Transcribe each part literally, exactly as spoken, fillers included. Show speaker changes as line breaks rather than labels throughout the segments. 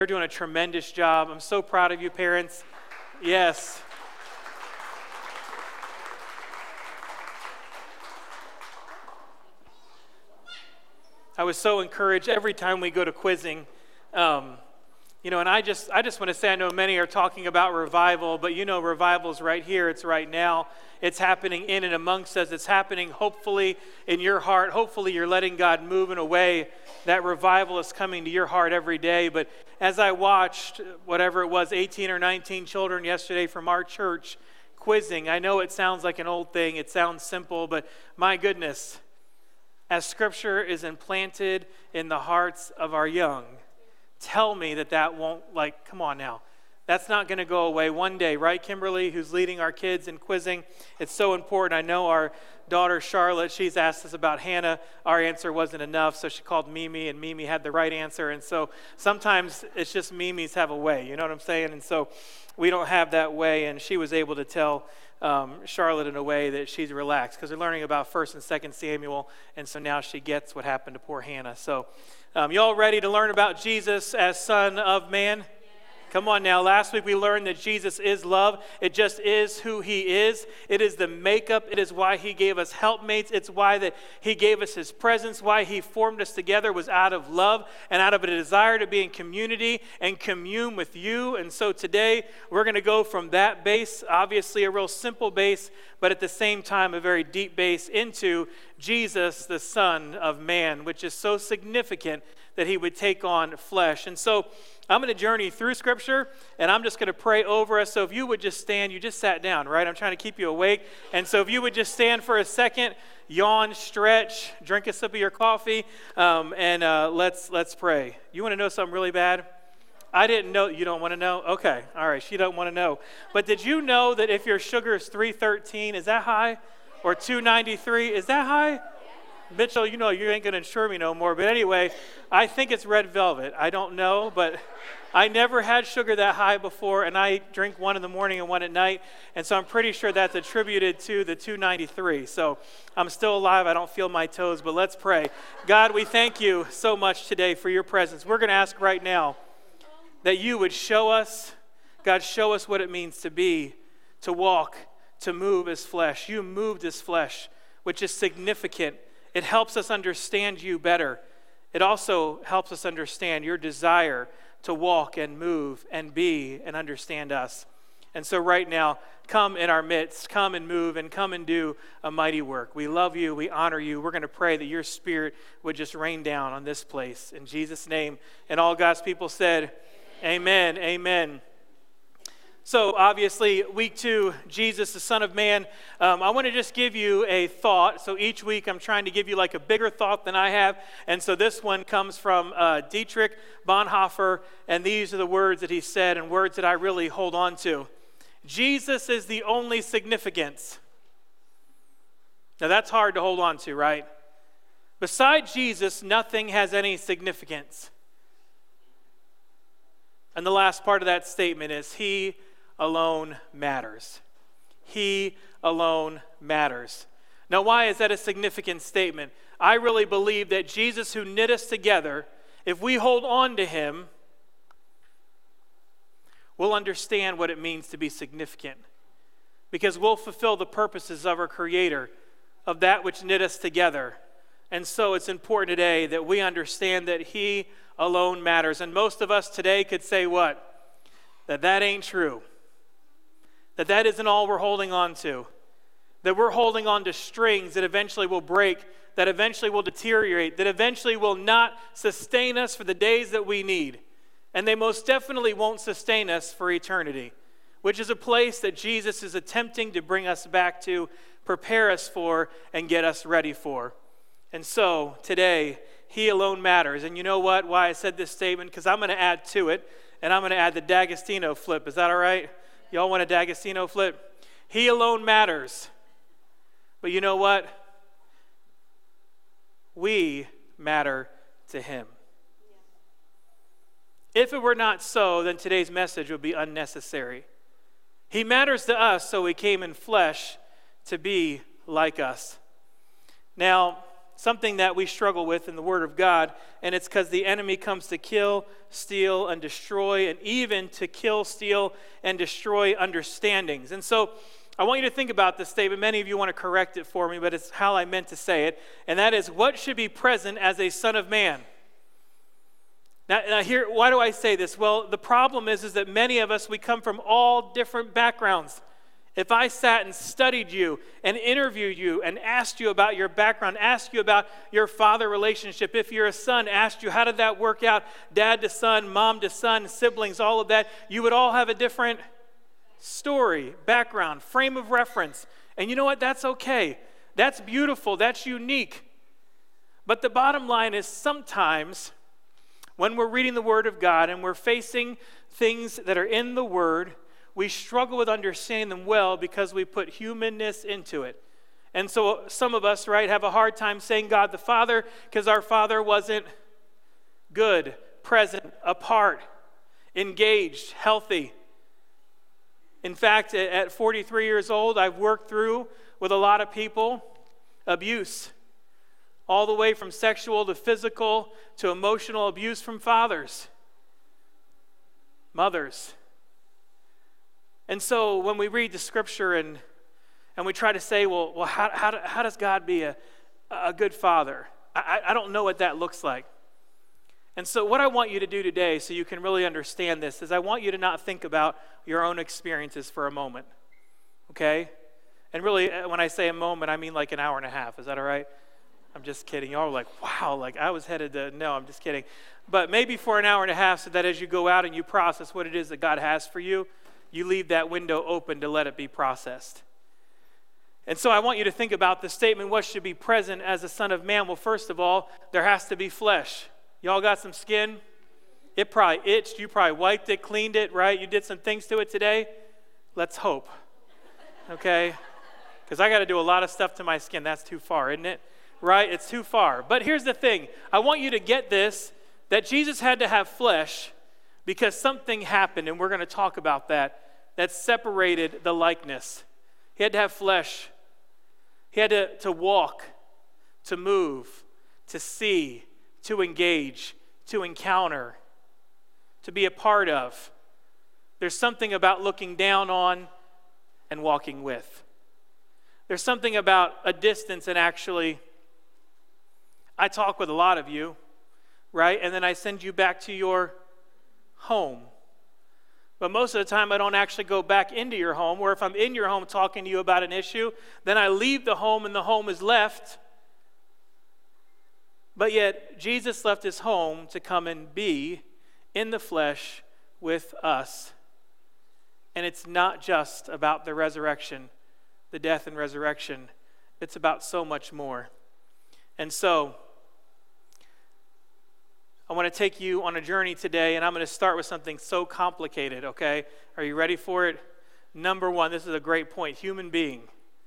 You're doing a tremendous job. I'm so proud of you, parents. Yes. I was so encouraged every time we go to quizzing. Um, you know, and I just I just want to say, I know many are talking about revival, but you know, revival's right here. It's right now. It's happening in and amongst us. It's happening hopefully in your heart. Hopefully you're letting God move in a way that revival is coming to your heart every day. But as I watched, whatever it was, eighteen or nineteen children yesterday from our church quizzing, I know it sounds like an old thing. It sounds simple, but my goodness, as Scripture is implanted in the hearts of our young, tell me that that won't, like, come on now. That's not going to go away one day, right, Kimberly, who's leading our kids in quizzing? It's so important. I know our daughter, Charlotte, she's asked us about Hannah. Our answer wasn't enough, so she called Mimi, and Mimi had the right answer. And so sometimes it's just Mimi's have a way, you know what I'm saying? And so we don't have that way, and she was able to tell um, Charlotte in a way that she's relaxed because they're learning about First and Second Samuel, and so now she gets what happened to poor Hannah. So um, y'all ready to learn about Jesus as Son of Man? Come on now. Last week we learned that Jesus is love. It just is who he is. It is the makeup. It is why he gave us helpmates. It's why that he gave us his presence. Why he formed us together was out of love and out of a desire to be in community and commune with you. And so today we're going to go from that base, obviously a real simple base, but at the same time a very deep base, into Jesus, the Son of Man, which is so significant that he would take on flesh. And so I'm going to journey through Scripture, and I'm just going to pray over us. So if you would just stand, you just sat down, right? I'm trying to keep you awake. And so if you would just stand for a second, yawn, stretch, drink a sip of your coffee, um, and uh, let's let's pray. You want to know something really bad? I didn't know. You don't want to know? Okay. All right. She don't want to know. But did you know that if your sugar is three thirteen, is that high? Or two ninety-three, is that high? Mitchell, you know you ain't going to insure me no more. But anyway, I think it's red velvet. I don't know, but I never had sugar that high before, and I drink one in the morning and one at night. And so I'm pretty sure that's attributed to the two ninety-three. So I'm still alive. I don't feel my toes, but let's pray. God, we thank you so much today for your presence. We're going to ask right now that you would show us, God, show us what it means to be, to walk, to move as flesh. You moved as flesh, which is significant. It helps us understand you better. It also helps us understand your desire to walk and move and be and understand us. And so right now, come in our midst, come and move and come and do a mighty work. We love you, we honor you. We're going to pray that your Spirit would just rain down on this place. In Jesus' name. And all God's people said, amen, amen. amen. So obviously, week two, Jesus, the Son of Man. Um, I want to just give you a thought. So each week, I'm trying to give you like a bigger thought than I have. And so this one comes from uh, Dietrich Bonhoeffer, and these are the words that he said and words that I really hold on to. Jesus is the only significance. Now that's hard to hold on to, right? Beside Jesus, nothing has any significance. And the last part of that statement is he alone matters. He alone matters. Now, why is that a significant statement? I really believe that Jesus, who knit us together, if we hold on to him, we'll understand what it means to be significant. Because we'll fulfill the purposes of our Creator, of that which knit us together. And so it's important today that we understand that he alone matters. And most of us today could say what? That that ain't true. That that isn't all we're holding on to. That we're holding on to strings that eventually will break, that eventually will deteriorate, that eventually will not sustain us for the days that we need. And they most definitely won't sustain us for eternity, which is a place that Jesus is attempting to bring us back to, prepare us for, and get us ready for. And so today, he alone matters. And you know what? Why I said this statement? Because I'm going to add to it, and I'm going to add the D'Agostino flip. Is that all right? Y'all want a D'Agostino flip? He alone matters. But you know what? We matter to him. If it were not so, then today's message would be unnecessary. He matters to us, so he came in flesh to be like us. Now, something that we struggle with in the Word of God, and it's because the enemy comes to kill, steal, and destroy, and even to kill, steal, and destroy understandings. And so I want you to think about this statement. Many of you want to correct it for me, but it's how I meant to say it, and that is, what should be present as a son of man? Now, now here, why do I say this? Well, the problem is, is that many of us, we come from all different backgrounds. If I sat and studied you and interviewed you and asked you about your background, asked you about your father relationship, if you're a son, asked you how did that work out, dad to son, mom to son, siblings, all of that, you would all have a different story, background, frame of reference. And you know what? That's okay. That's beautiful. That's unique. But the bottom line is, sometimes when we're reading the Word of God and we're facing things that are in the Word, we struggle with understanding them well because we put humanness into it. And so some of us, right, have a hard time saying God the Father because our Father wasn't good, present, apart, engaged, healthy. In fact, at forty-three years old, I've worked through with a lot of people abuse, all the way from sexual to physical to emotional abuse from fathers, mothers. And so when we read the scripture and and we try to say, well, well how, how, how does God be a, a good father? I, I don't know what that looks like. And so what I want you to do today, so you can really understand this, is I want you to not think about your own experiences for a moment, okay? And really, when I say a moment, I mean like an hour and a half. Is that all right? I'm just kidding. Y'all are like, wow, like I was headed to, no, I'm just kidding. But maybe for an hour and a half, so that as you go out and you process what it is that God has for you, you leave that window open to let it be processed. And so I want you to think about the statement, what should be present as a son of man? Well, first of all, there has to be flesh. Y'all got some skin? It probably itched. You probably wiped it, cleaned it, right? You did some things to it today? Let's hope. Okay? Because I got to do a lot of stuff to my skin. That's too far, isn't it? Right? It's too far. But here's the thing. I want you to get this, that Jesus had to have flesh because something happened, and we're going to talk about that, that separated the likeness. He had to have flesh. He had to, to walk, to move, to see, to engage, to encounter, to be a part of. There's something about looking down on and walking with. There's something about a distance and actually, I talk with a lot of you, right? And then I send you back to your home. But most of the time I don't actually go back into your home, or if I'm in your home talking to you about an issue, then I leave the home and the home is left. But yet Jesus left his home to come and be in the flesh with us. And it's not just about the resurrection, the death and resurrection. It's about so much more. And so I want to take you on a journey today, and I'm going to start with something so complicated, okay? Are you ready for it? Number one, this is a great point, human being.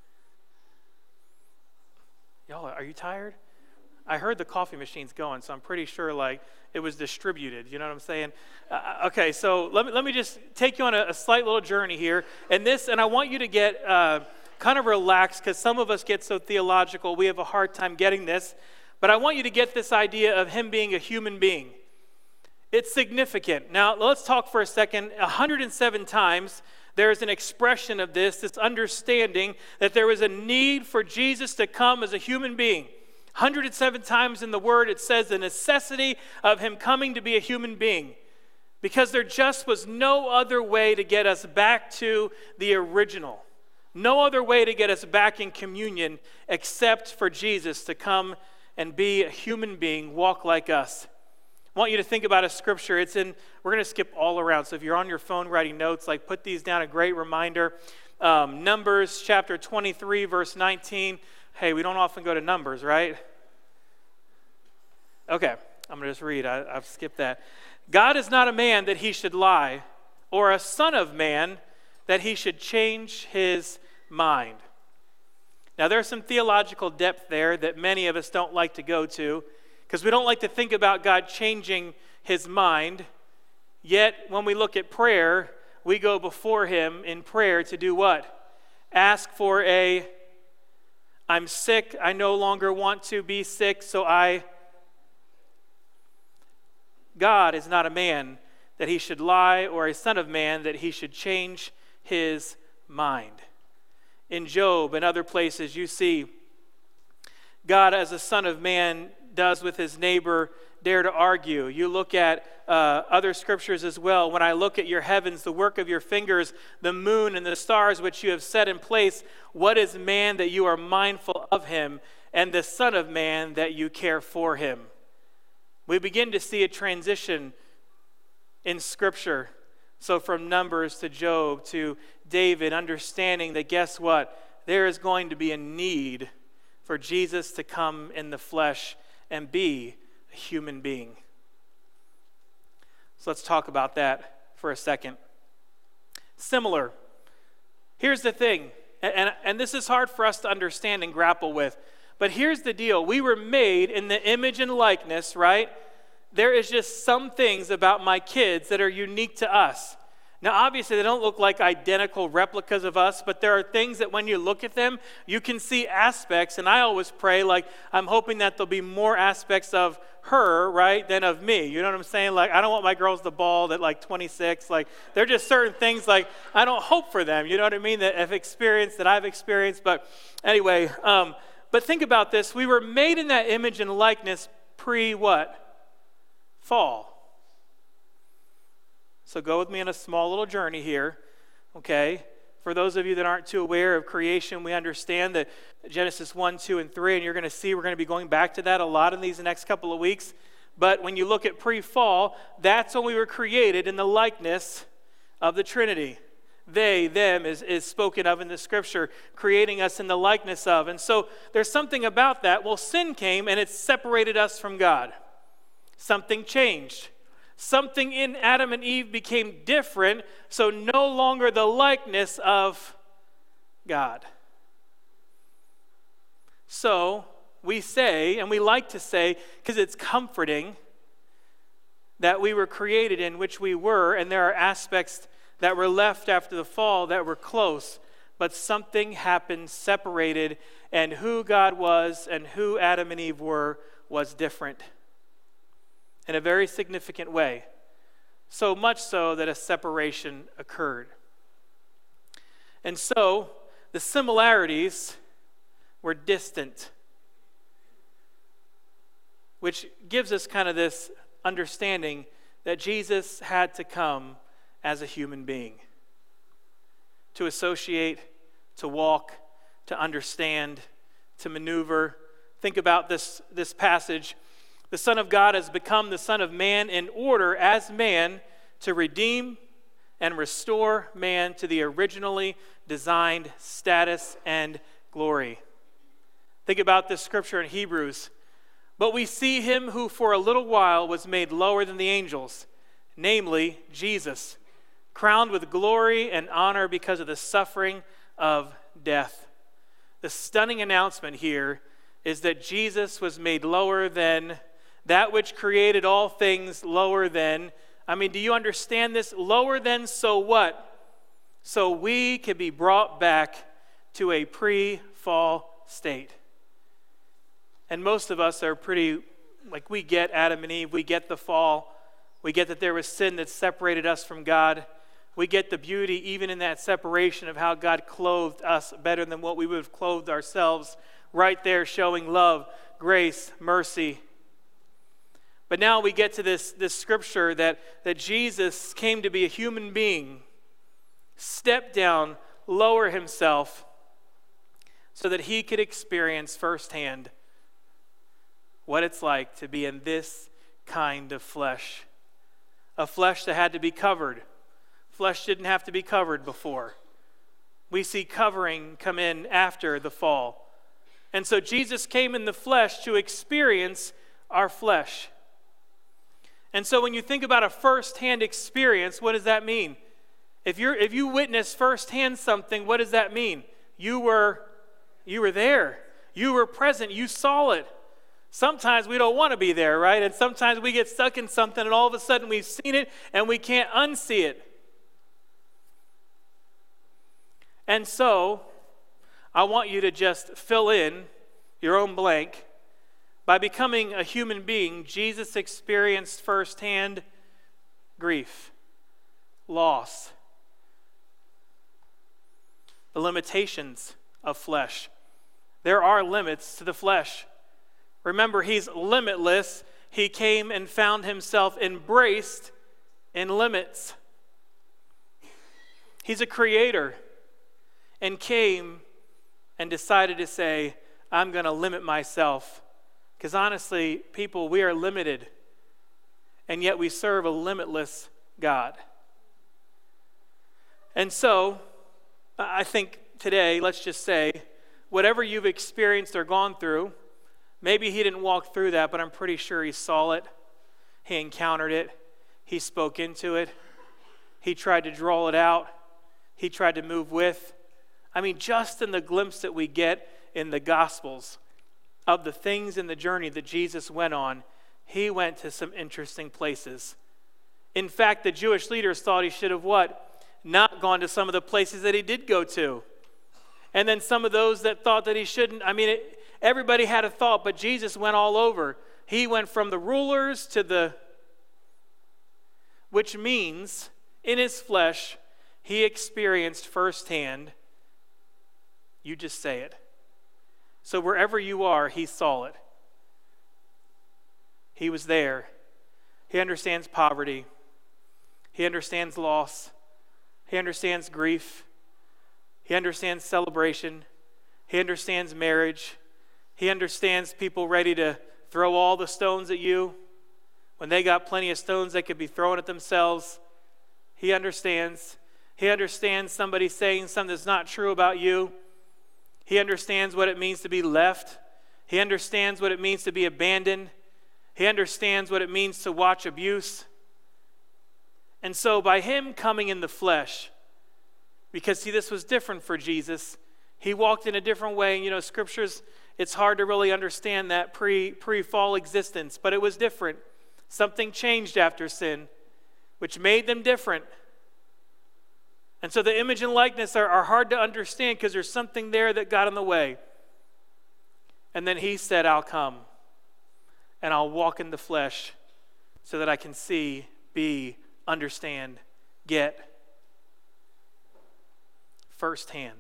Y'all, are you tired? I heard the coffee machine's going, so I'm pretty sure like it was distributed. You know what I'm saying? Uh, okay, so let me let me just take you on a, a slight little journey here, and this, and I want you to get uh, kind of relaxed because some of us get so theological, we have a hard time getting this. But I want you to get this idea of him being a human being. It's significant. Now, let's talk for a second. one hundred seven times there is an expression of this, this understanding that there was a need for Jesus to come as a human being. one hundred seven times in the Word it says the necessity of him coming to be a human being. Because there just was no other way to get us back to the original. No other way to get us back in communion except for Jesus to come and be a human being, walk like us. I want you to think about a scripture. It's in, we're going to skip all around. So if you're on your phone writing notes, like put these down, a great reminder. Um, Numbers chapter twenty-three, verse nineteen. Hey, we don't often go to Numbers, right? Okay, I'm going to just read. I, I've skipped that. God is not a man that he should lie, or a son of man that he should change his mind. Now, there's some theological depth there that many of us don't like to go to because we don't like to think about God changing his mind. Yet, when we look at prayer, we go before him in prayer to do what? Ask for a, I'm sick. I no longer want to be sick, so I... God is not a man that he should lie, or a son of man that he should change his mind. In Job and other places, you see God as a son of man does with his neighbor dare to argue. You look at uh, other scriptures as well. When I look at your heavens, the work of your fingers, the moon and the stars which you have set in place, what is man that you are mindful of him, and the son of man that you care for him? We begin to see a transition in Scripture. So from Numbers to Job to David, understanding that guess what? There is going to be a need for Jesus to come in the flesh and be a human being. So let's talk about that for a second. Similar. Here's the thing, and, and this is hard for us to understand and grapple with. But here's the deal. We were made in the image and likeness, right? There is just some things about my kids that are unique to us. Now, obviously, they don't look like identical replicas of us, but there are things that when you look at them, you can see aspects. And I always pray, like, I'm hoping that there'll be more aspects of her, right, than of me. You know what I'm saying? Like, I don't want my girls to bald at like twenty-six. Like, there are just certain things, like, I don't hope for them. You know what I mean? That I've experienced, that I've experienced. But anyway, um, but think about this. We were made in that image and likeness pre what? Fall. So go with me on a small little journey here, okay? For those of you that aren't too aware of creation, we understand that Genesis one, two, and three, and you're going to see we're going to be going back to that a lot in these next couple of weeks. But when you look at pre-fall, that's when we were created in the likeness of the Trinity. They, them, is, is spoken of in the Scripture, creating us in the likeness of. And so there's something about that. Well, sin came, and it separated us from God. Something changed. Something in Adam and Eve became different, so no longer the likeness of God. So we say, and we like to say, because it's comforting, that we were created in which we were, and there are aspects that were left after the fall that were close, but something happened, separated, and who God was and who Adam and Eve were was different in a very significant way, so much so that a separation occurred. And so the similarities were distant, which gives us kind of this understanding that Jesus had to come as a human being to associate, to walk, to understand, to maneuver. Think about this, this passage. The Son of God has become the Son of Man in order as man to redeem and restore man to the originally designed status and glory. Think about this scripture in Hebrews. But we see him who for a little while was made lower than the angels, namely Jesus, crowned with glory and honor because of the suffering of death. The stunning announcement here is that Jesus was made lower than that which created all things, lower than. I mean, do you understand this? Lower than, so what? So we can be brought back to a pre-fall state. And most of us are pretty, like we get Adam and Eve, we get the fall. We get that there was sin that separated us from God. We get the beauty even in that separation of how God clothed us better than what we would have clothed ourselves. Right there showing love, grace, mercy. But now we get to this, this scripture that, that Jesus came to be a human being, step down, lower himself, so that he could experience firsthand what it's like to be in this kind of flesh. A flesh that had to be covered. Flesh didn't have to be covered before. We see covering come in after the fall. And so Jesus came in the flesh to experience our flesh. And so when you think about a first-hand experience, what does that mean? If you're if you witness firsthand something, what does that mean? You were you were there. You were present. You saw it. Sometimes we don't want to be there, right? And sometimes we get stuck in something and all of a sudden we've seen it and we can't unsee it. And so I want you to just fill in your own blank. By becoming a human being, Jesus experienced firsthand grief, loss, the limitations of flesh. There are limits to the flesh. Remember, he's limitless. He came and found himself embraced in limits. He's a creator and came and decided to say, I'm going to limit myself. Because honestly, people, we are limited, and yet we serve a limitless God. And so, I think today, let's just say, whatever you've experienced or gone through, maybe he didn't walk through that, but I'm pretty sure he saw it. He encountered it. He spoke into it. He tried to draw it out. He tried to move with. I mean, just in the glimpse that we get in the Gospels of the things in the journey that Jesus went on, he went to some interesting places. In fact, the Jewish leaders thought he should have what? Not gone to some of the places that he did go to. And then some of those that thought that he shouldn't. I mean, it, everybody had a thought, but Jesus went all over. He went from the rulers to the, which means in his flesh, he experienced firsthand, you just say it. So wherever you are, he saw it. He was there. He understands poverty. He understands loss. He understands grief. He understands celebration. He understands marriage. He understands people ready to throw all the stones at you when they got plenty of stones they could be throwing at themselves. He understands. He understands somebody saying something that's not true about you. He understands what it means to be left. He understands what it means to be abandoned. He understands what it means to watch abuse. And so by him coming in the flesh, because see, this was different for Jesus, he walked in a different way. And you know, scriptures, it's hard to really understand that pre, pre-fall existence, but it was different. Something changed after sin, which made them different. And so the image and likeness are, are hard to understand because there's something there that got in the way. And then he said, I'll come and I'll walk in the flesh so that I can see, be, understand, get firsthand.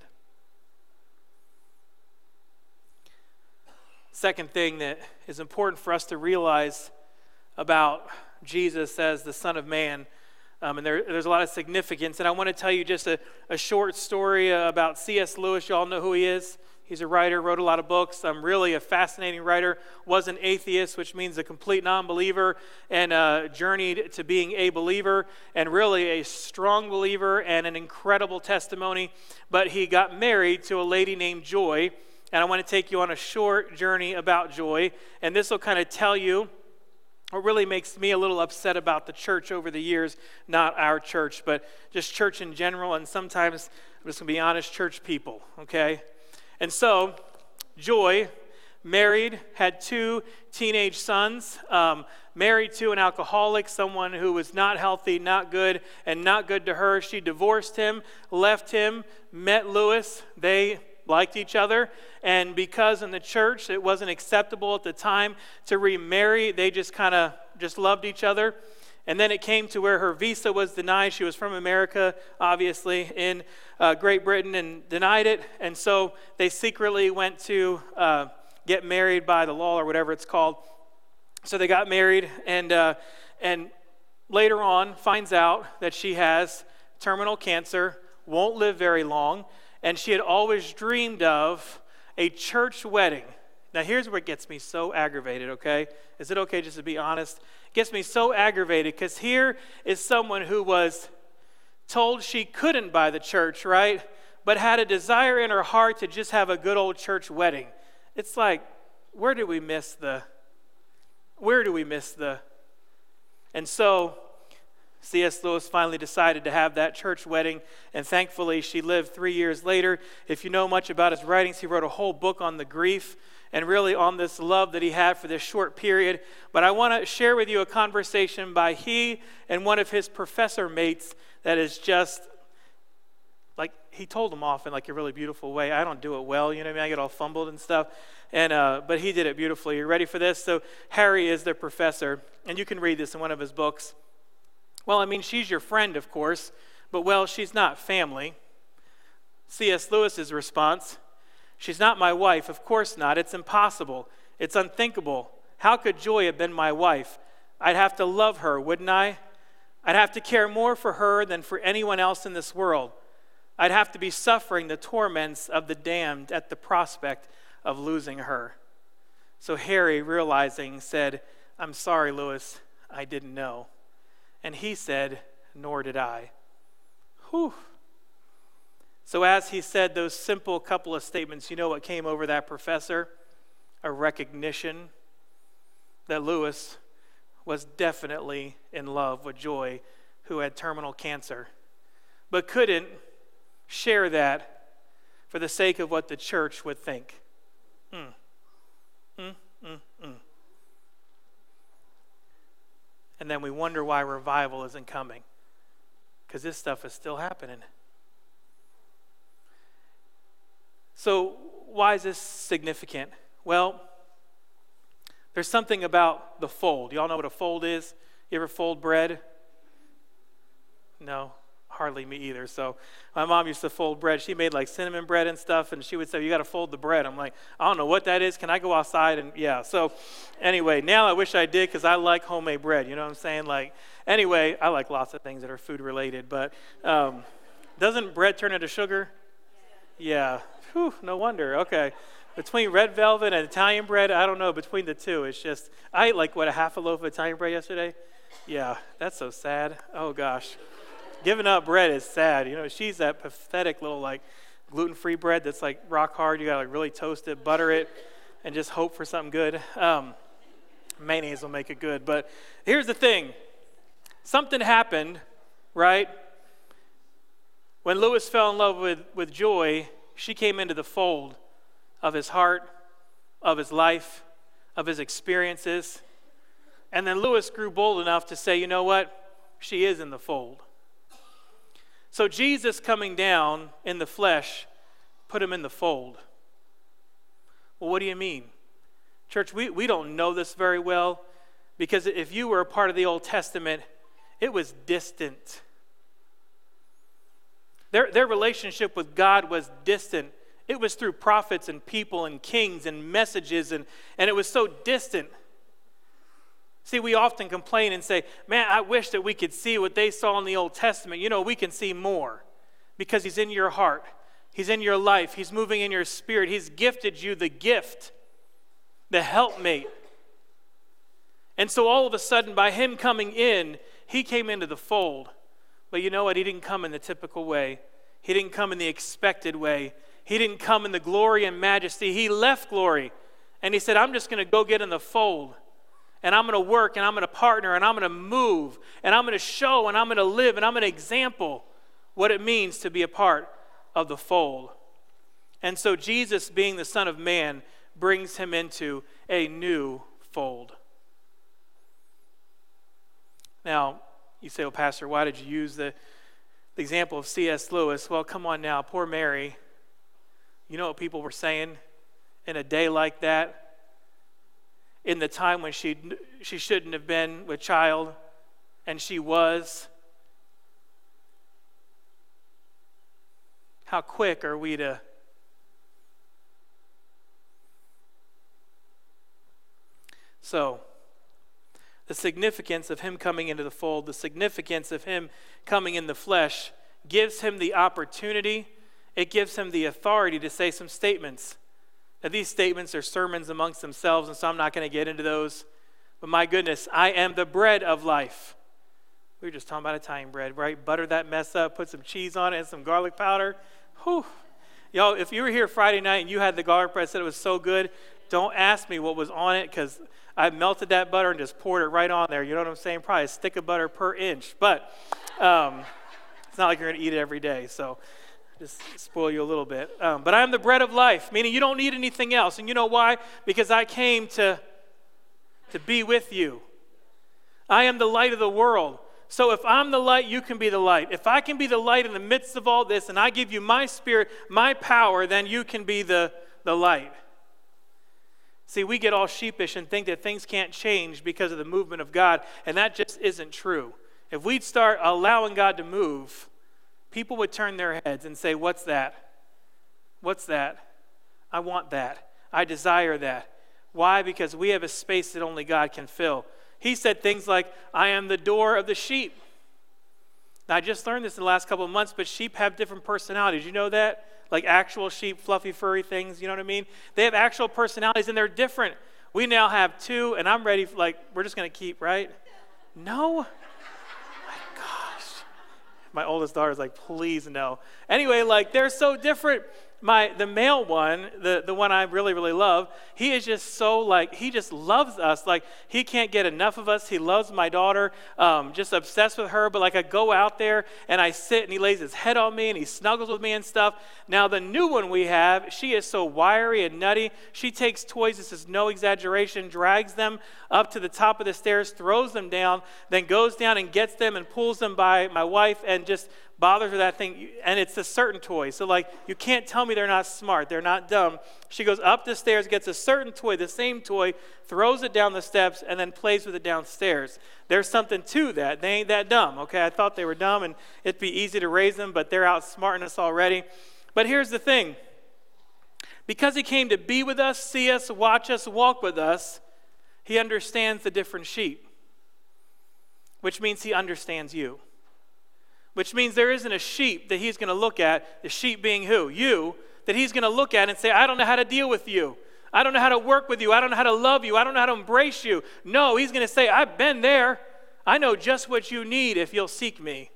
Second thing that is important for us to realize about Jesus as the Son of Man, Um, and there, there's a lot of significance. And I want to tell you just a, a short story uh, about C S Lewis. You all know who he is. He's a writer, wrote a lot of books. Um, really a fascinating writer. Was an atheist, which means a complete non-believer, and uh, journeyed to being a believer, and really a strong believer and an incredible testimony. But he got married to a lady named Joy. And I want to take you on a short journey about Joy. And this will kind of tell you what really makes me a little upset about the church over the years, not our church, but just church in general, and sometimes, I'm just going to be honest, church people, okay? And so, Joy, married, had two teenage sons, um, married to an alcoholic, someone who was not healthy, not good, and not good to her. She divorced him, left him, met Lewis. They liked each other, and because in the church it wasn't acceptable at the time to remarry, they just kind of just loved each other. And then it came to where her visa was denied. She was from America, obviously, in uh, Great Britain, and denied it. And so they secretly went to uh, get married by the law, or whatever it's called. So they got married, and uh, and later on finds out that she has terminal cancer, won't live very long. And she had always dreamed of a church wedding. Now here's where it gets me so aggravated, okay? Is it okay just to be honest? It gets me so aggravated because here is someone who was told she couldn't buy the church, right? But had a desire in her heart to just have a good old church wedding. It's like, where do we miss the, where do we miss the, and so C S Lewis finally decided to have that church wedding, and thankfully she lived three years later. If you know much about his writings, he wrote a whole book on the grief and really on this love that he had for this short period. But I want to share with you a conversation by he and one of his professor mates that is just like he told them off in like a really beautiful way. I don't do it well, you know what I mean? I get all fumbled and stuff. And uh, but he did it beautifully. You ready for this? So Harry is the professor, and you can read this in one of his books. Well, I mean, she's your friend, of course, but well, she's not family. C S Lewis's response, she's not my wife. Of course not. It's impossible. It's unthinkable. How could Joy have been my wife? I'd have to love her, wouldn't I? I'd have to care more for her than for anyone else in this world. I'd have to be suffering the torments of the damned at the prospect of losing her. So Harry, realizing, said, I'm sorry, Lewis, I didn't know. And he said, nor did I. Whew. So as he said those simple couple of statements, you know what came over that professor? A recognition that Lewis was definitely in love with Joy, who had terminal cancer, but couldn't share that for the sake of what the church would think. Mm. Mm, mm, mm. And then we wonder why revival isn't coming, because this stuff is still happening. So why is this significant? Well, there's something about the fold. Y'all know what a fold is? You ever fold bread? No, hardly me either. So my mom used to fold bread. She made like cinnamon bread and stuff, and she would say, you got to fold the bread. I'm like, I don't know what that is. Can I go outside? And yeah, so anyway, now I wish I did, because I like homemade bread. You know what I'm saying? Like, anyway, I like lots of things that are food related, but um, doesn't bread turn into sugar? Yeah. Whew, no wonder. Okay. Between red velvet and Italian bread, I don't know, between the two, it's just, I ate like, what, a half a loaf of Italian bread yesterday? Yeah, that's so sad. Oh, gosh. Giving up bread is sad. You know, she's that pathetic little, like, gluten-free bread that's, like, rock hard. You got to, like, really toast it, butter it, and just hope for something good. Um, mayonnaise will make it good. But here's the thing. Something happened, right? When Lewis fell in love with, with Joy, she came into the fold of his heart, of his life, of his experiences. And then Lewis grew bold enough to say, you know what? She is in the fold. So Jesus coming down in the flesh put him in the fold. Well, what do you mean? Church, we, we don't know this very well, because if you were a part of the Old Testament, it was distant. Their, their relationship with God was distant. It was through prophets and people and kings and messages, and, and it was so distant. See, we often complain and say, man, I wish that we could see what they saw in the Old Testament. You know, we can see more, because he's in your heart. He's in your life. He's moving in your spirit. He's gifted you the gift, the helpmate. And so all of a sudden, by him coming in, he came into the fold. But you know what? He didn't come in the typical way. He didn't come in the expected way. He didn't come in the glory and majesty. He left glory. And he said, I'm just going to go get in the fold. And I'm going to work, and I'm going to partner, and I'm going to move, and I'm going to show, and I'm going to live, and I'm going to example what it means to be a part of the fold. And so Jesus, being the Son of Man, brings him into a new fold. Now, you say, well, Pastor, why did you use the, the example of C S Lewis? Well, come on now, poor Mary. You know what people were saying in a day like that? In the time when she she shouldn't have been with child, and she was. How quick are we to So, the significance of him coming into the fold, the significance of him coming in the flesh, gives him the opportunity, it gives him the authority to say some statements. Now, these statements are sermons amongst themselves, and so I'm not going to get into those. But my goodness, I am the bread of life. We were just talking about Italian bread, right? Butter that mess up, put some cheese on it and some garlic powder. Whew. Y'all, if you were here Friday night and you had the garlic bread, said it was so good, don't ask me what was on it, because I melted that butter and just poured it right on there. You know what I'm saying? Probably a stick of butter per inch. But um, it's not like you're going to eat it every day, so just spoil you a little bit. Um, but I am the bread of life, meaning you don't need anything else. And you know why? Because I came to, to be with you. I am the light of the world. So if I'm the light, you can be the light. If I can be the light in the midst of all this, and I give you my spirit, my power, then you can be the, the light. See, we get all sheepish and think that things can't change because of the movement of God, and that just isn't true. If we'd start allowing God to move, people would turn their heads and say, what's that? What's that? I want that. I desire that. Why? Because we have a space that only God can fill. He said things like, I am the door of the sheep. Now, I just learned this in the last couple of months, but sheep have different personalities. You know that? Like actual sheep, fluffy, furry things, you know what I mean? They have actual personalities, and they're different. We now have two, and I'm ready, for, like, we're just going to keep, right? No? My gosh. My oldest daughter's like, please no. Anyway, like, they're so different. My the male one, the, the one I really, really love, he is just so like, he just loves us. Like, he can't get enough of us. He loves my daughter, um, just obsessed with her. But like, I go out there and I sit and he lays his head on me and he snuggles with me and stuff. Now, the new one we have, she is so wiry and nutty. She takes toys, this is no exaggeration, drags them up to the top of the stairs, throws them down, then goes down and gets them and pulls them by my wife and just bothers with that thing, and it's a certain toy. So like, you can't tell me they're not smart, they're not dumb. She goes up the stairs, gets a certain toy, the same toy, throws it down the steps, and then plays with it downstairs. There's something to that. They ain't that dumb, okay? I thought they were dumb, and it'd be easy to raise them, but they're outsmarting us already. But here's the thing. Because he came to be with us, see us, watch us, walk with us, he understands the different sheep, which means he understands you. Which means there isn't a sheep that he's going to look at, the sheep being who? You, that he's going to look at and say, I don't know how to deal with you. I don't know how to work with you. I don't know how to love you. I don't know how to embrace you. No, he's going to say, I've been there. I know just what you need if you'll seek me.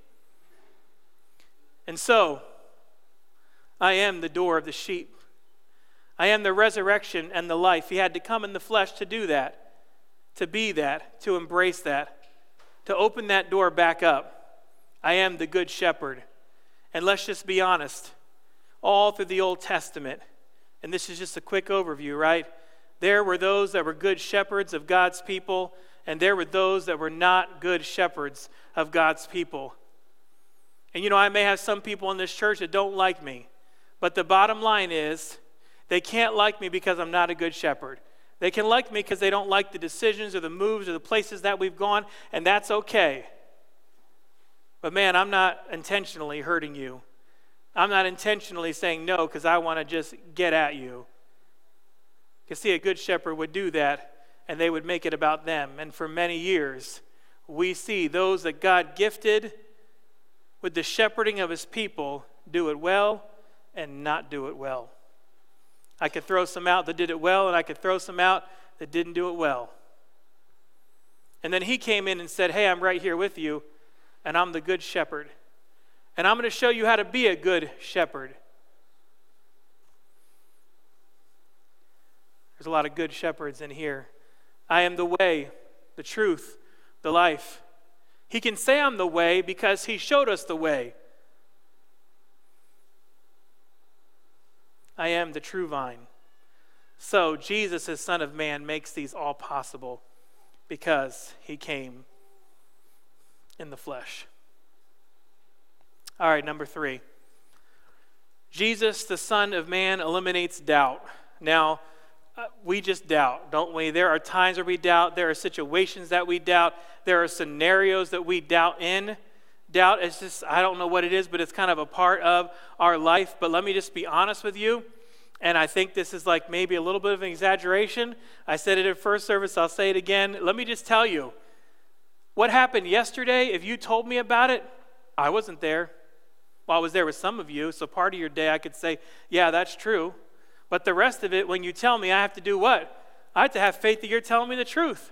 And so, I am the door of the sheep. I am the resurrection and the life. He had to come in the flesh to do that, to be that, to embrace that, to open that door back up. I am the good shepherd. And let's just be honest, all through the Old Testament, and this is just a quick overview, right? There were those that were good shepherds of God's people, and there were those that were not good shepherds of God's people. And you know, I may have some people in this church that don't like me, but the bottom line is, they can't like me because I'm not a good shepherd. They can like me because they don't like the decisions or the moves or the places that we've gone, and that's okay. But man, I'm not intentionally hurting you. I'm not intentionally saying no because I want to just get at you. Because see, a good shepherd would do that, and they would make it about them. And for many years, we see those that God gifted with the shepherding of his people do it well and not do it well. I could throw some out that did it well, and I could throw some out that didn't do it well. And then he came in and said, hey, I'm right here with you. And I'm the good shepherd. And I'm going to show you how to be a good shepherd. There's a lot of good shepherds in here. I am the way, the truth, the life. He can say I'm the way because he showed us the way. I am the true vine. So Jesus, as Son of Man, makes these all possible because he came in the flesh. All right, number three. Jesus, the Son of Man, eliminates doubt. Now, uh, we just doubt, don't we? There are times where we doubt. There are situations that we doubt. There are scenarios that we doubt in. Doubt is just, I don't know what it is, but it's kind of a part of our life. But let me just be honest with you. And I think this is like maybe a little bit of an exaggeration. I said it at first service. I'll say it again. Let me just tell you. What happened yesterday, if you told me about it, I wasn't there. Well, I was there with some of you, so part of your day I could say, yeah, that's true. But the rest of it, when you tell me, I have to do what? I have to have faith that you're telling me the truth.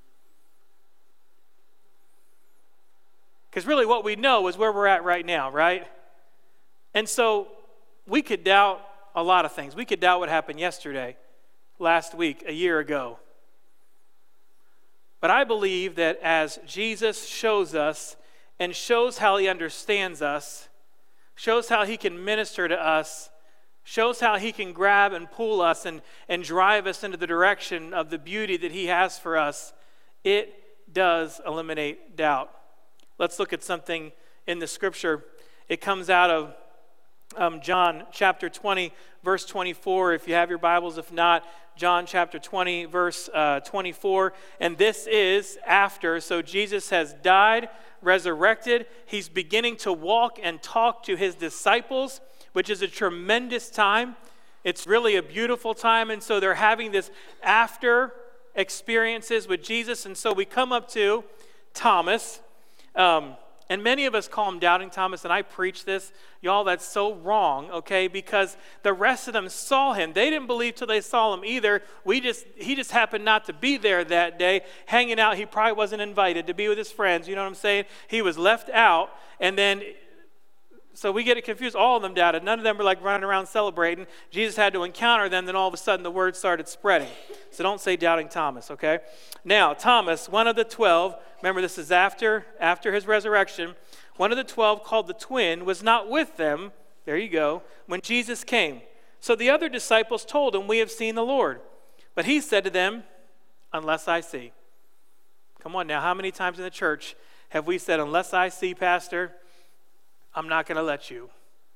Because really what we know is where we're at right now, right? And so we could doubt a lot of things. We could doubt what happened yesterday, last week, a year ago. But I believe that as Jesus shows us and shows how he understands us, shows how he can minister to us, shows how he can grab and pull us and, and drive us into the direction of the beauty that he has for us, it does eliminate doubt. Let's look at something in the scripture. It comes out of um, John chapter twenty, verse twenty-four. If you have your Bibles, if not, John chapter twenty, verse uh, twenty-four. And this is after. So Jesus has died, resurrected. He's beginning to walk and talk to his disciples, which is a tremendous time. It's really a beautiful time. And so they're having this after experiences with Jesus. And so we come up to Thomas. Um, and many of us call him Doubting Thomas, and I preach this. Y'all, that's so wrong, okay? Because the rest of them saw him. They didn't believe till they saw him either. We just He just happened not to be there that day, hanging out. He probably wasn't invited to be with his friends. You know what I'm saying? He was left out, and then... So we get it confused. All of them doubted. None of them were like running around celebrating. Jesus had to encounter them. Then all of a sudden the word started spreading. So don't say Doubting Thomas, okay? Now, Thomas, one of the twelve, remember this is after, after his resurrection, one of the twelve called the twin was not with them, there you go, when Jesus came. So the other disciples told him, we have seen the Lord. But he said to them, unless I see. Come on now, how many times in the church have we said, unless I see, Pastor, I'm not going to let you.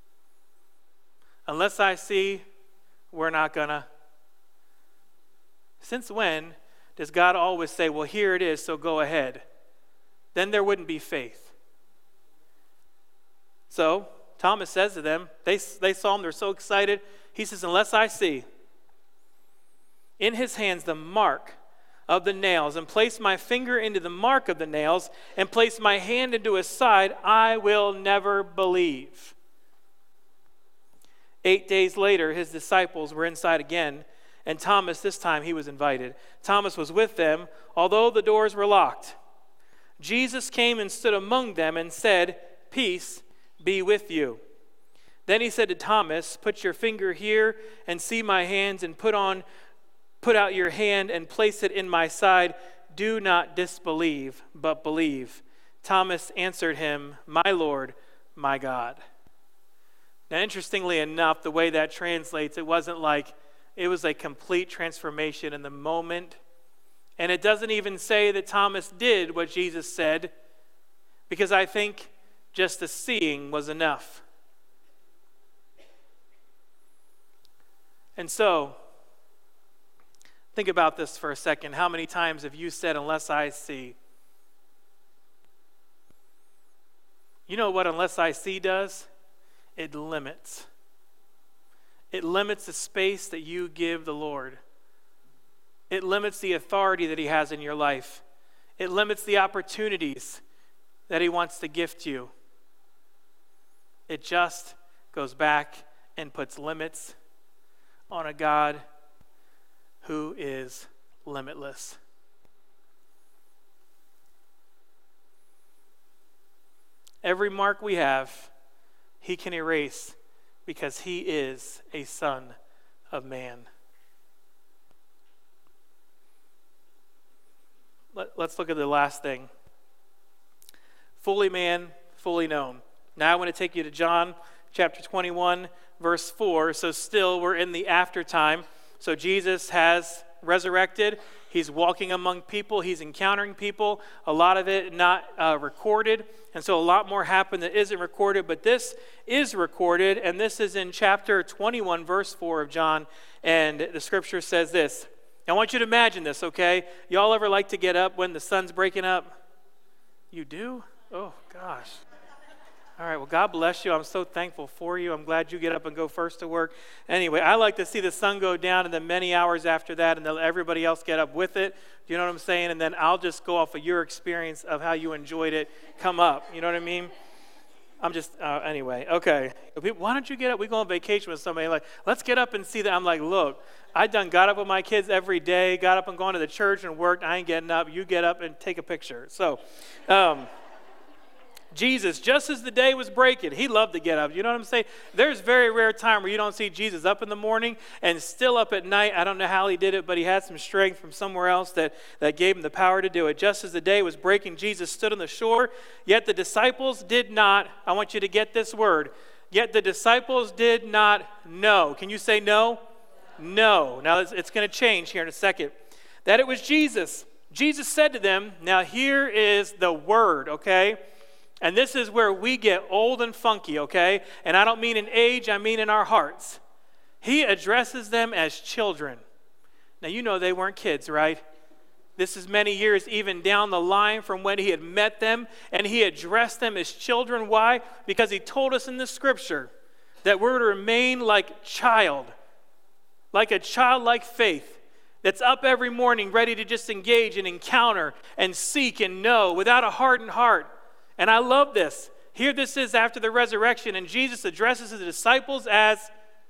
Unless I see, we're not going to. Since when does God always say, well, here it is, so go ahead? Then there wouldn't be faith. So Thomas says to them, they, they saw him, they're so excited. He says, unless I see in his hands the mark of the nails, and place my finger into the mark of the nails, and place my hand into his side, I will never believe. Eight days later, his disciples were inside again, and Thomas, this time he was invited. Thomas was with them, although the doors were locked. Jesus came and stood among them and said, peace be with you. Then he said to Thomas, put your finger here and see my hands, and put on Put out your hand and place it in my side. Do not disbelieve, but believe. Thomas answered him, my Lord, my God. Now, interestingly enough, the way that translates, it wasn't like it was a complete transformation in the moment. And it doesn't even say that Thomas did what Jesus said, because I think just the seeing was enough. And so, think about this for a second. How many times have you said, unless I see? You know what unless I see does? It limits. It limits the space that you give the Lord. It limits the authority that he has in your life. It limits the opportunities that he wants to gift you. It just goes back and puts limits on a God who is limitless. Every mark we have, he can erase because he is a son of man. Let, let's look at the last thing. Fully man, fully known. Now I want to take you to John chapter twenty-one, verse four. So still we're in the after time. So Jesus has resurrected. He's walking among people. He's encountering people. A lot of it not uh, recorded. And so a lot more happened that isn't recorded. But this is recorded. And this is in chapter twenty-one, verse four of John. And the scripture says this. I want you to imagine this, okay? Y'all ever like to get up when the sun's breaking up? You do? Oh, gosh. All right, well, God bless you. I'm so thankful for you. I'm glad you get up and go first to work. Anyway, I like to see the sun go down and then many hours after that, and then everybody else get up with it. Do you know what I'm saying? And then I'll just go off of your experience of how you enjoyed it. Come up. You know what I mean? I'm just, uh, anyway, okay. Why don't you get up? We go on vacation with somebody, like, let's get up and see that. I'm like, look, I done got up with my kids every day, got up and gone to the church and worked. I ain't getting up. You get up and take a picture. So, um, Jesus, just as the day was breaking, he loved to get up. You know what I'm saying? There's very rare time where you don't see Jesus up in the morning and still up at night. I don't know how he did it, but he had some strength from somewhere else that, that gave him the power to do it. Just as the day was breaking, Jesus stood on the shore, yet the disciples did not, I want you to get this word, yet the disciples did not know. Can you say no? No. Now it's, it's going to change here in a second. That it was Jesus. Jesus said to them, now here is the word, okay? And this is where we get old and funky, okay? And I don't mean in age, I mean in our hearts. He addresses them as children. Now, you know they weren't kids, right? This is many years even down the line from when he had met them, and he addressed them as children. Why? Because he told us in the scripture that we're to remain like child, like a childlike faith that's up every morning ready to just engage and encounter and seek and know without a hardened heart. And I love this. Here this is after the resurrection, and Jesus addresses his disciples as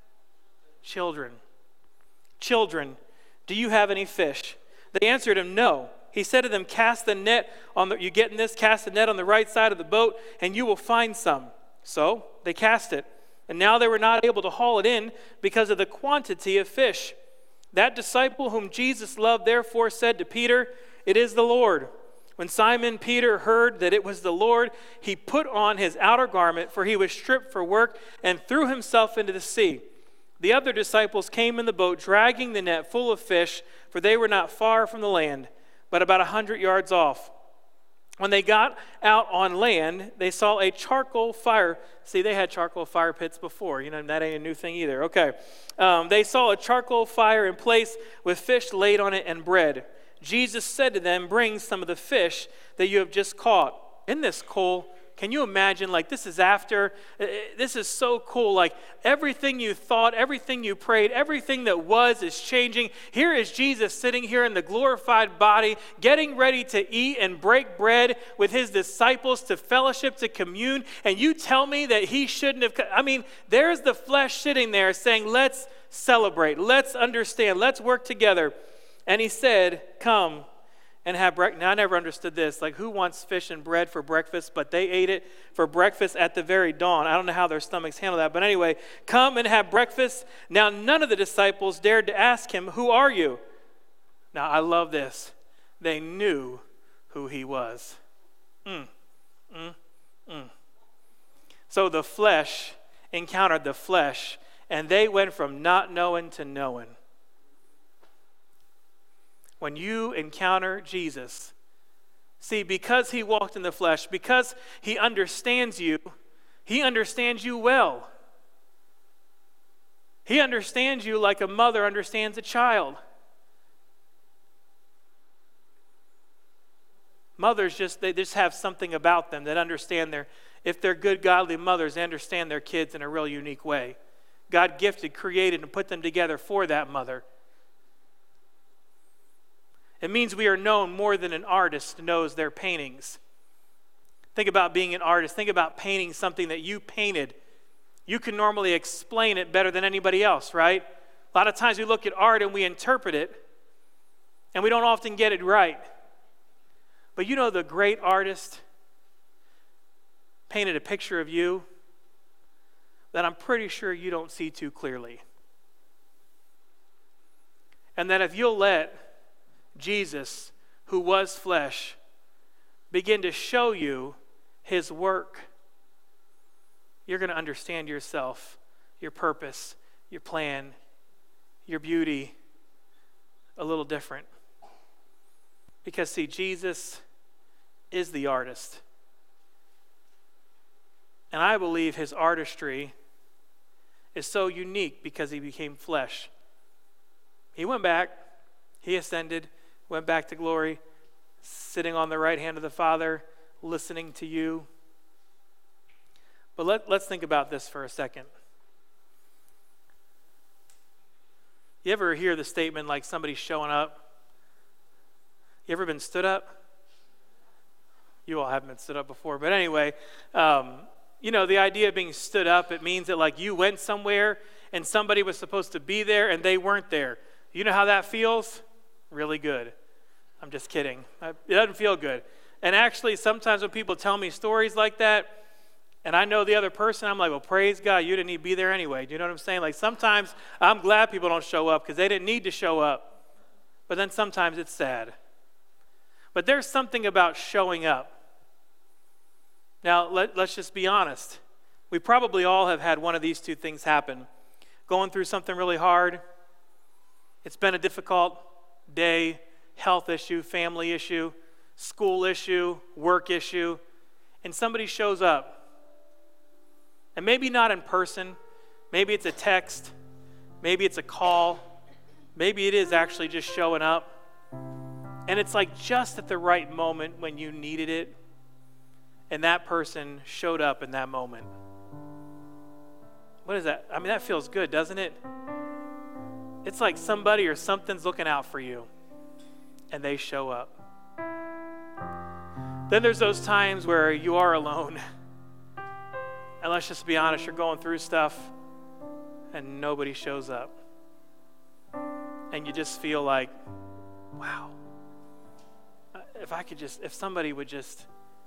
children. Children, do you have any fish? They answered him, no. He said to them, cast the net on the, you getting this? Cast the net on the right side of the boat, and you will find some. So they cast it. And now they were not able to haul it in because of the quantity of fish. That disciple whom Jesus loved therefore said to Peter, it is the Lord. When Simon Peter heard that it was the Lord, he put on his outer garment, for he was stripped for work, and threw himself into the sea. The other disciples came in the boat, dragging the net full of fish, for they were not far from the land, but about a hundred yards off. When they got out on land, they saw a charcoal fire. See, they had charcoal fire pits before. You know, that ain't a new thing either. Okay. Um, they saw a charcoal fire in place with fish laid on it and bread. Jesus said to them, bring some of the fish that you have just caught. Isn't this cool? Can you imagine, like, this is after, this is so cool, like, everything you thought, everything you prayed, everything that was is changing. Here is Jesus sitting here in the glorified body, getting ready to eat and break bread with his disciples to fellowship, to commune, and you tell me that he shouldn't have, I mean, there's the flesh sitting there saying, let's celebrate, let's understand, let's work together. And he said, come and have breakfast. Now, I never understood this. Like, who wants fish and bread for breakfast? But they ate it for breakfast at the very dawn. I don't know how their stomachs handle that. But anyway, come and have breakfast. Now, none of the disciples dared to ask him, who are you? Now, I love this. They knew who he was. Mm, mm, mm. So the flesh encountered the flesh, and they went from not knowing to knowing. When you encounter Jesus, see, because he walked in the flesh, because he understands you, he understands you well. He understands you like a mother understands a child. Mothers just, they just have something about them that understand their, if they're good, godly mothers, they understand their kids in a real unique way. God gifted, created, and put them together for that mother. It means we are known more than an artist knows their paintings. Think about being an artist. Think about painting something that you painted. You can normally explain it better than anybody else, right? A lot of times we look at art and we interpret it, and we don't often get it right. But you know, the great artist painted a picture of you that I'm pretty sure you don't see too clearly. And that if you'll let Jesus, who was flesh, begin to show you his work, you're going to understand yourself, your purpose, your plan, your beauty a little different. Because, see, Jesus is the artist. And I believe his artistry is so unique because he became flesh. He went back, he ascended, went back to glory, sitting on the right hand of the Father, listening to you. But let, let's think about this for a second. You ever hear the statement like somebody showing up? You ever been stood up? You all haven't been stood up before, but anyway, um, you know, the idea of being stood up, it means that like you went somewhere and somebody was supposed to be there and they weren't there. You know how that feels? Really good. I'm just kidding. It doesn't feel good. And actually, sometimes when people tell me stories like that, and I know the other person, I'm like, well, praise God, you didn't need to be there anyway. Do you know what I'm saying? Like sometimes I'm glad people don't show up because they didn't need to show up. But then sometimes it's sad. But there's something about showing up. Now, let, let's just be honest. We probably all have had one of these two things happen. Going through something really hard. It's been a difficult day, health issue, family issue, school issue, work issue, and somebody shows up, and maybe not in person, maybe it's a text, maybe it's a call, maybe it is actually just showing up, and it's like just at the right moment when you needed it, and that person showed up in that moment. What is that? I mean, that feels good, doesn't it? It's like somebody or something's looking out for you, and they show up. Then there's those times where you are alone. And let's just be honest, you're going through stuff, and nobody shows up. And you just feel like, wow, if I could just, if somebody would just.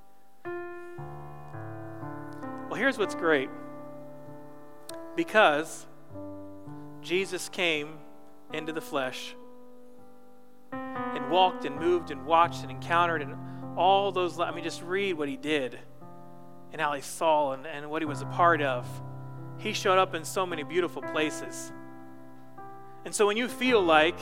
Well, here's what's great. Because Jesus came into the flesh and walked and moved and watched and encountered and all those, I mean, just read what he did and how he saw and, and what he was a part of. He showed up in so many beautiful places. And so when you feel like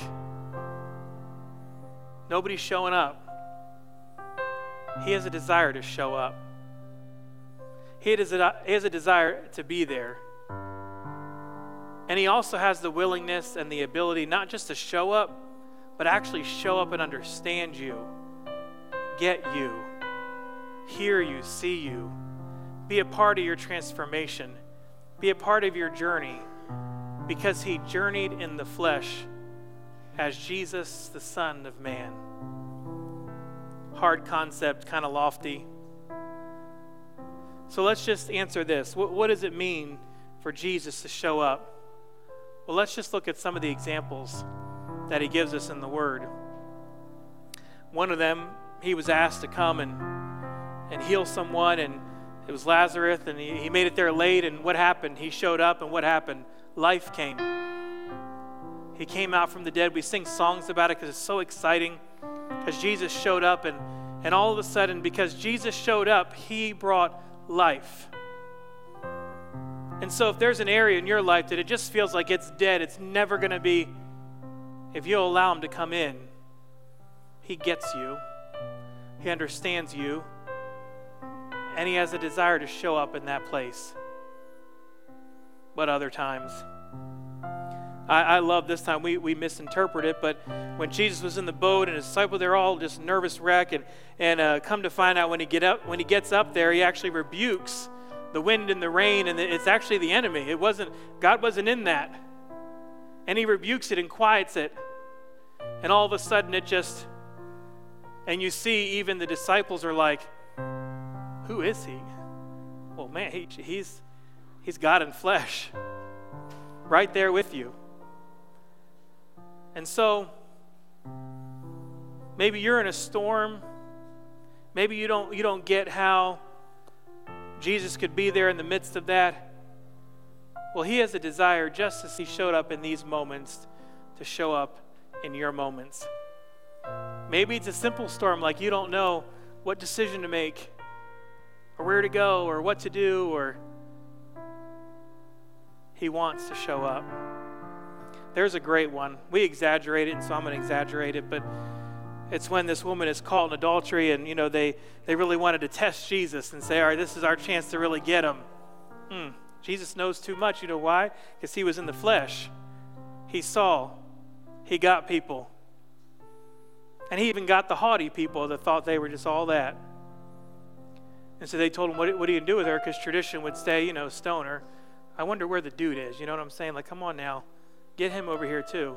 nobody's showing up, he has a desire to show up. He has a, he has a desire to be there. And he also has the willingness and the ability not just to show up, but actually show up and understand you, get you, hear you, see you, be a part of your transformation, be a part of your journey, because he journeyed in the flesh as Jesus, the Son of Man. Hard concept, kind of lofty. So let's just answer this. What, what does it mean for Jesus to show up? Well, let's just look at some of the examples that he gives us in the Word. One of them, he was asked to come and, and heal someone, and it was Lazarus, and he, he made it there late, and what happened? He showed up, and what happened? Life came. He came out from the dead. We sing songs about it because it's so exciting, because Jesus showed up, and, and all of a sudden, because Jesus showed up, he brought life. And so if there's an area in your life that it just feels like it's dead, it's never going to be, if you'll allow him to come in, he gets you, he understands you, and he has a desire to show up in that place. But other times, I, I love this time, we, we misinterpret it, but when Jesus was in the boat and his disciples, they're all just nervous wreck, and, and uh, come to find out when he, get up, when he gets up there, he actually rebukes the wind and the rain, and it's actually the enemy. It wasn't, God wasn't in that. And he rebukes it and quiets it. And all of a sudden it just, and you see even the disciples are like, who is he? Well, man, he, he's, he's God in flesh. Right there with you. And so, maybe you're in a storm. Maybe you don't, you don't get how Jesus could be there in the midst of that. Well, he has a desire, just as he showed up in these moments, to show up in your moments. Maybe it's a simple storm, like you don't know what decision to make, or where to go, or what to do, or he wants to show up. There's a great one. We exaggerate it, and so I'm going to exaggerate it, but it's when this woman is caught in adultery, and you know they, they really wanted to test Jesus and say, all right, this is our chance to really get him. Hmm. Jesus knows too much. You know why? Because he was in the flesh. He saw. He got people. And he even got the haughty people that thought they were just all that. And so they told him, what, what are you going to do with her? Because tradition would say, you know, stone her. I wonder where the dude is. You know what I'm saying? Like, come on now. Get him over here too.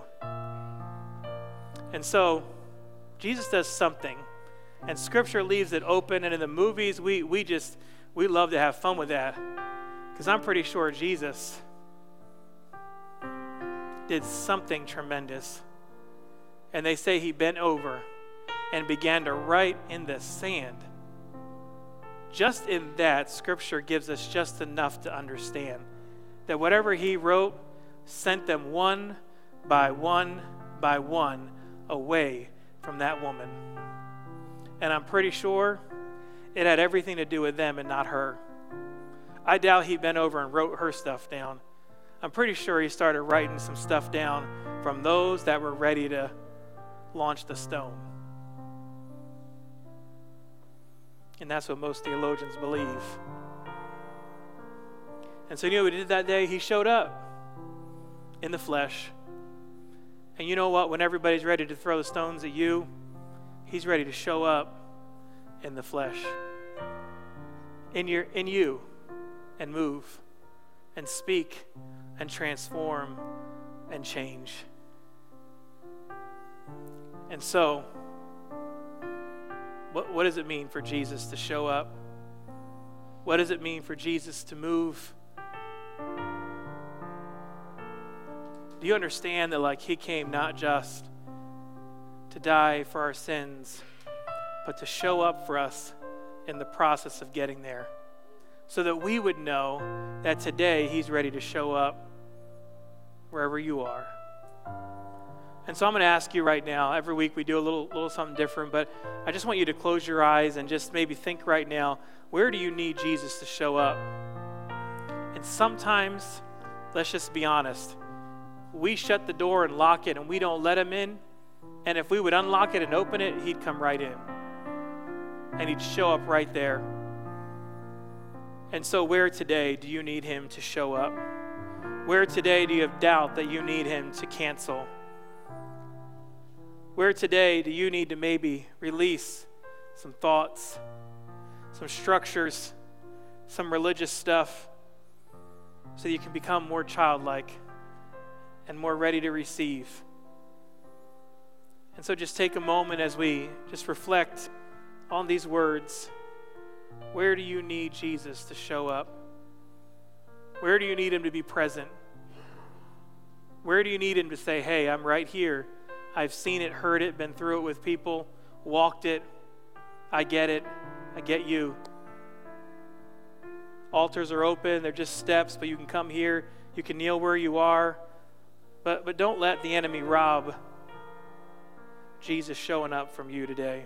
And so Jesus does something, and Scripture leaves it open, and in the movies, we we just, we love to have fun with that, because I'm pretty sure Jesus did something tremendous. And they say he bent over and began to write in the sand. Just in that, Scripture gives us just enough to understand that whatever he wrote sent them one by one by one away from that woman. And I'm pretty sure it had everything to do with them and not her. I doubt he bent over and wrote her stuff down. I'm pretty sure he started writing some stuff down from those that were ready to launch the stone. And that's what most theologians believe. And so you know what he did that day? He showed up in the flesh. And you know what? When everybody's ready to throw the stones at you, he's ready to show up in the flesh. In your in you and move and speak and transform and change. And so, what, what does it mean for Jesus to show up? What does it mean for Jesus to move? Do you understand that like he came not just to die for our sins, but to show up for us in the process of getting there, so that we would know that today he's ready to show up wherever you are. And so I'm going to ask you right now, every week we do a little, little something different, but I just want you to close your eyes and just maybe think right now, where do you need Jesus to show up? And sometimes, let's just be honest, we shut the door and lock it and we don't let him in. And if we would unlock it and open it, he'd come right in. And he'd show up right there. And so where today do you need him to show up? Where today do you have doubt that you need him to cancel? Where today do you need to maybe release some thoughts, some structures, some religious stuff, so you can become more childlike and more ready to receive? And so just take a moment as we just reflect on these words. Where do you need Jesus to show up? Where do you need him to be present? Where do you need him to say, hey, I'm right here. I've seen it, heard it, been through it with people, walked it. I get it. I get you. Altars are open. They're just steps, but you can come here. You can kneel where you are. But, but don't let the enemy rob Jesus showing up from you today.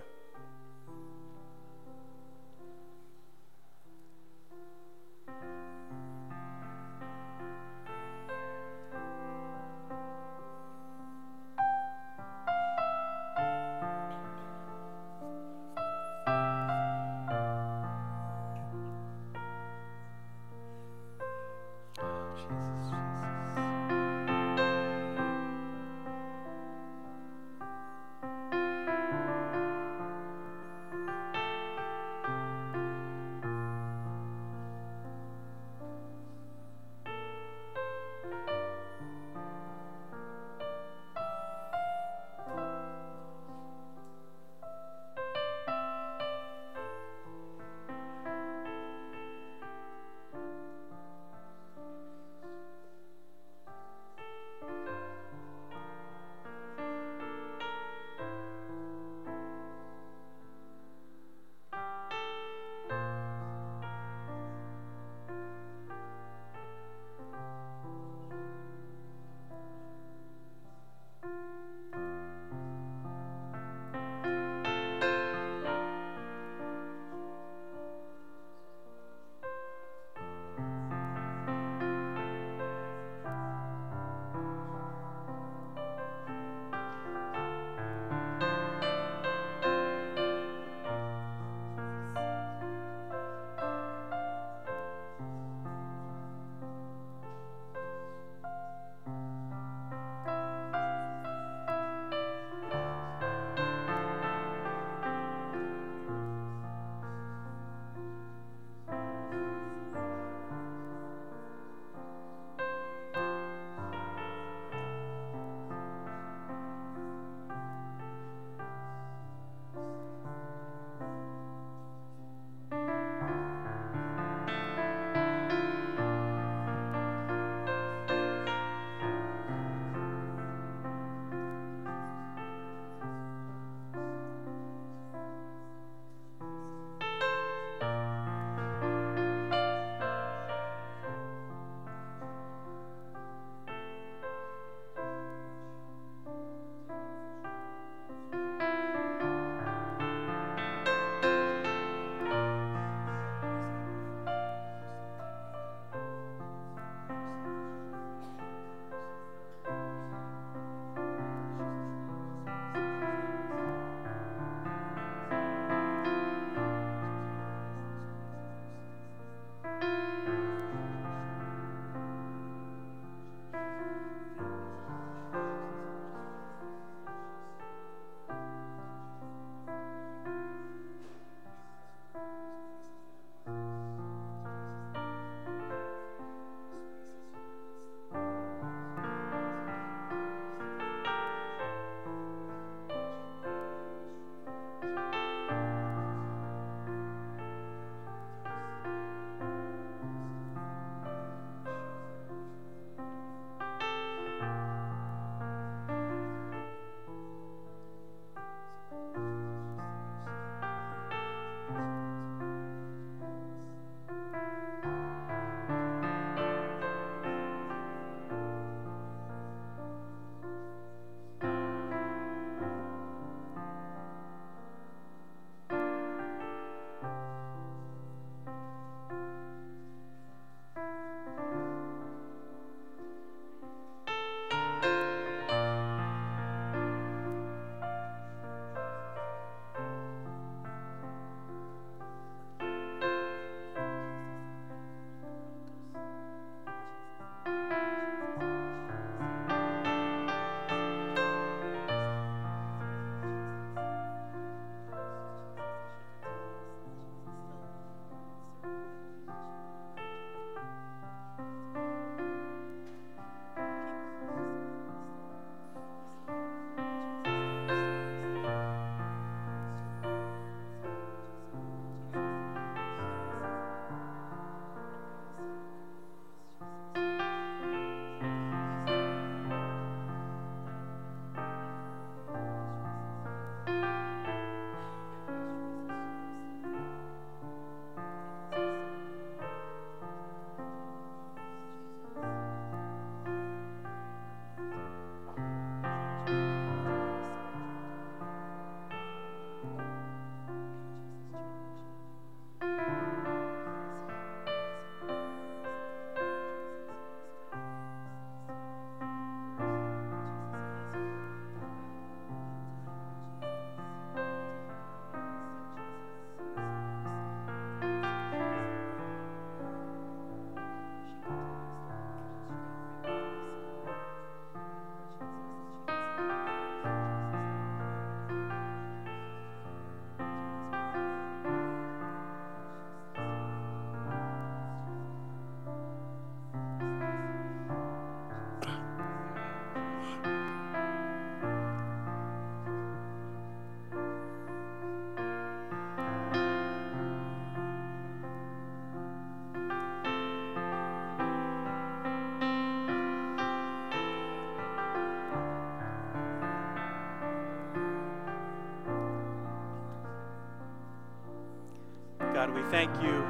God, we thank you.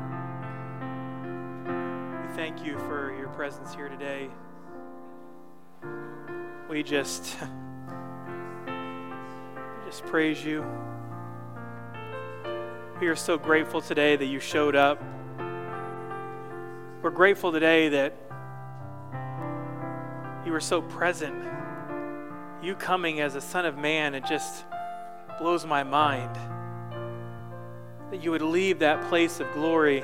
We thank you for your presence here today. We just, we just praise you. We are so grateful today that you showed up. We're grateful today that you were so present. You coming as a Son of Man, it just blows my mind. That you would leave that place of glory,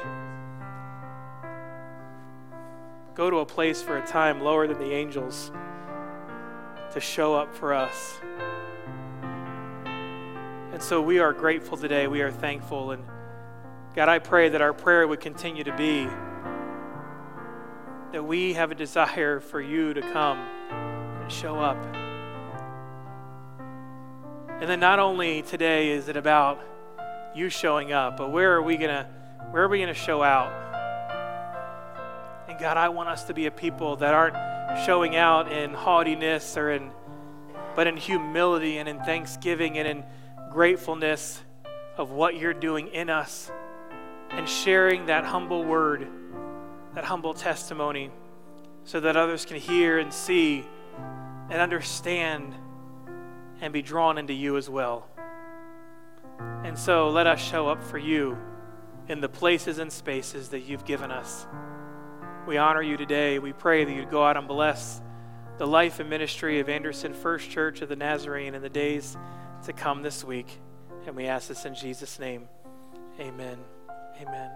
go to a place for a time lower than the angels to show up for us. And so we are grateful today. We are thankful. And God, I pray that our prayer would continue to be that we have a desire for you to come and show up. And then not only today is it about you showing up, but where are we gonna where are we gonna show out? And God, I want us to be a people that aren't showing out in haughtiness or in but in humility and in thanksgiving and in gratefulness of what you're doing in us and sharing that humble word, that humble testimony, so that others can hear and see and understand and be drawn into you as well. And so let us show up for you in the places and spaces that you've given us. We honor you today. We pray that you'd go out and bless the life and ministry of Anderson First Church of the Nazarene in the days to come this week. And we ask this in Jesus' name. Amen. Amen.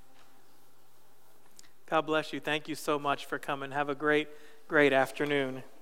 God bless you. Thank you so much for coming. Have a great, great afternoon.